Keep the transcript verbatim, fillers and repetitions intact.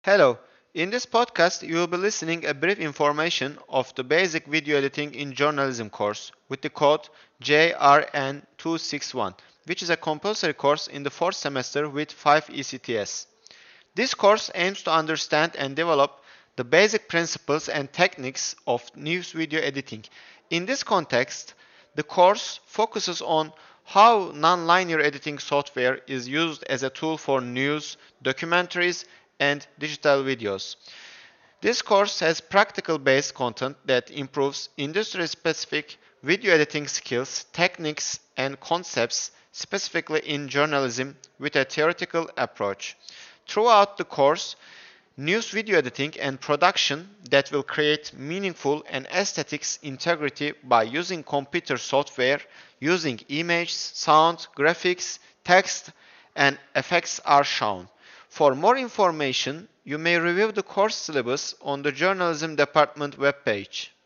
Hello. In this podcast, you will be listening a brief information of the basic video editing in journalism course with the code J R N two six one, which is a compulsory course in the fourth semester with five E C T S. This course aims to understand and develop the basic principles and techniques of news video editing. In this context, the course focuses on how non-linear editing software is used as a tool for news, documentaries, and digital videos. This course has practical-based content that improves industry-specific video editing skills, techniques, and concepts specifically in journalism with a theoretical approach. Throughout the course, news video editing and production that will create meaningful and aesthetics integrity by using computer software, using images, sound, graphics, text, and effects are shown. For more information, you may review the course syllabus on the Journalism Department webpage.